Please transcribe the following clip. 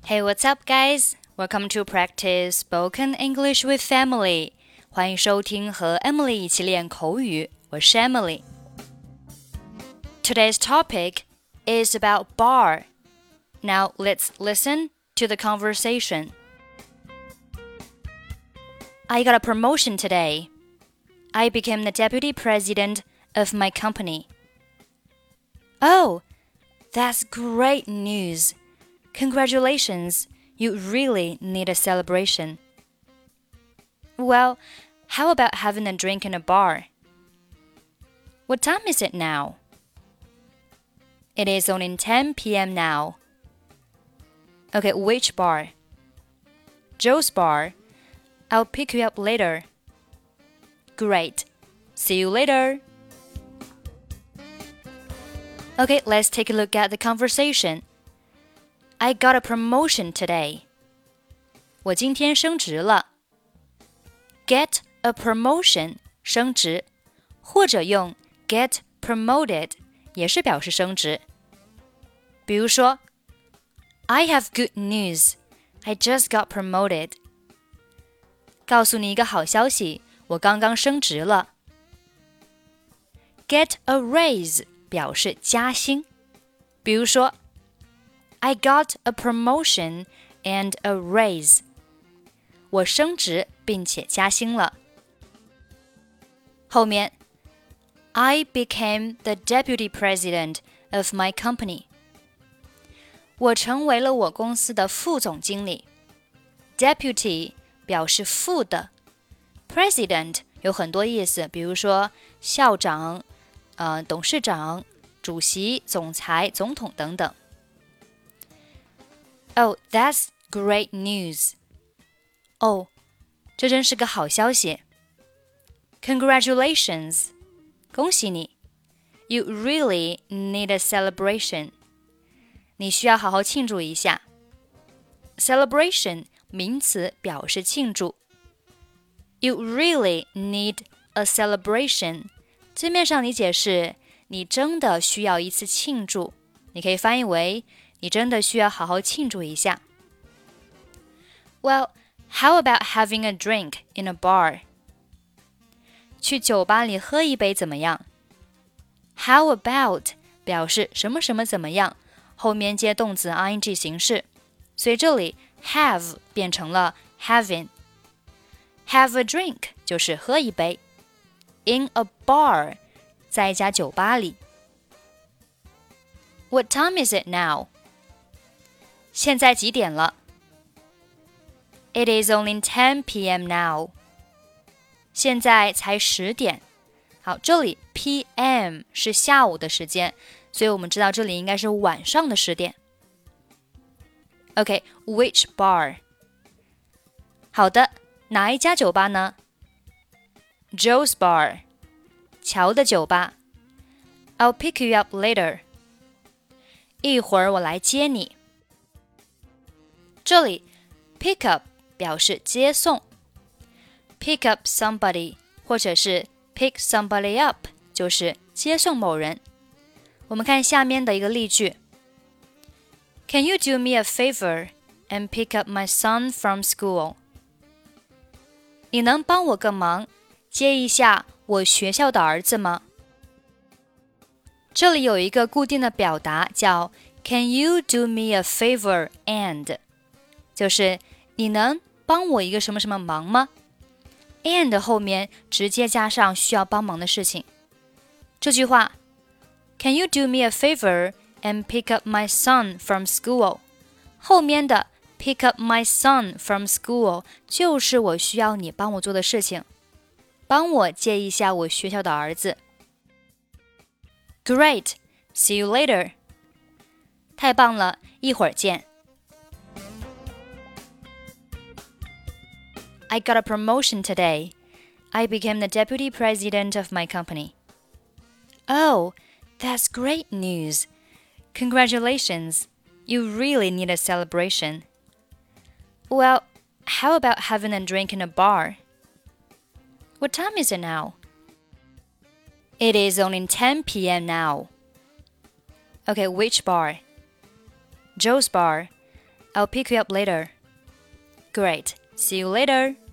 Hey, what's up, guys? Welcome to practice spoken English with Emily. 欢迎收听和 Emily 一起练口语，我是 Emily. Today's topic is about bar. Now let's listen to the conversation. I got a promotion today. I became the deputy president of my company. Oh, that's great news. Congratulations, you really need a celebration. Well, how about having a drink in a bar? What time is it now? It is only 10 p.m. now. Okay, which bar? Joe's bar. I'll pick you up later. Great. See you later. Okay, let's take a look at the conversation.I got a promotion today. 我今天升职了。Get a promotion 升职，或者用 get promoted 也是表示升职。比如说 I have good news. I just got promoted. 告诉你一个好消息，我刚刚升职了。Get a raise 表示加薪。比如说I got a promotion and a raise. 我升职并且加薪了。后面 I became the deputy president of my company. 我成为了我公司的副总经理。Deputy 表示副的。President 有很多意思，比如说校长、董事长、主席、总裁、总统等等。Oh, that's great news. 哦，这真是个好消息。Congratulations. 恭喜你。You really need a celebration. 你需要好好庆祝一下。Celebration 名词表示庆祝。You really need a celebration. 字面上理解是你真的需要一次庆祝，你可以翻译为你真的需要好好庆祝一下。Well, how about having a drink in a bar? 去酒吧里喝一杯怎么样？ How about 表示什么什么怎么样，后面接动词 ing 形式，所以这里 have 变成了 having. Have a drink 就是喝一杯。In a bar 在一家酒吧里。What time is it now?现在几点了？ It is only 10 p.m. now. 现在才10点。好，这里 p.m. 是下午的时间，所以我们知道这里应该是晚上的10点。Okay, which bar? 好的，哪一家酒吧呢？ Joe's bar. 乔的酒吧。I'll pick you up later. 一会儿我来接你。这里 pick up 表示接送。Pick up somebody 或者是 pick somebody up 就是接送某人。我们看下面的一个例句。Can you do me a favor and pick up my son from school? 你能帮我个忙，接一下我学校的儿子吗？这里有一个固定的表达叫 Can you do me a favor and就是你能帮我一个什么什么忙吗？ And 后面直接加上需要帮忙的事情。这句话 Can you do me a favor and pick up my son from school? 后面的 pick up my son from school 就是我需要你帮我做的事情，帮我接一下我学校的儿子。Great, see you later. 太棒了，一会儿见。I got a promotion today. I became the deputy president of my company. Oh, that's great news. Congratulations. You really need a celebration. Well, how about having a drink in a bar? What time is it now? It is only 10 p.m. now. Okay, which bar? Joe's bar. I'll pick you up later. Great. See you later.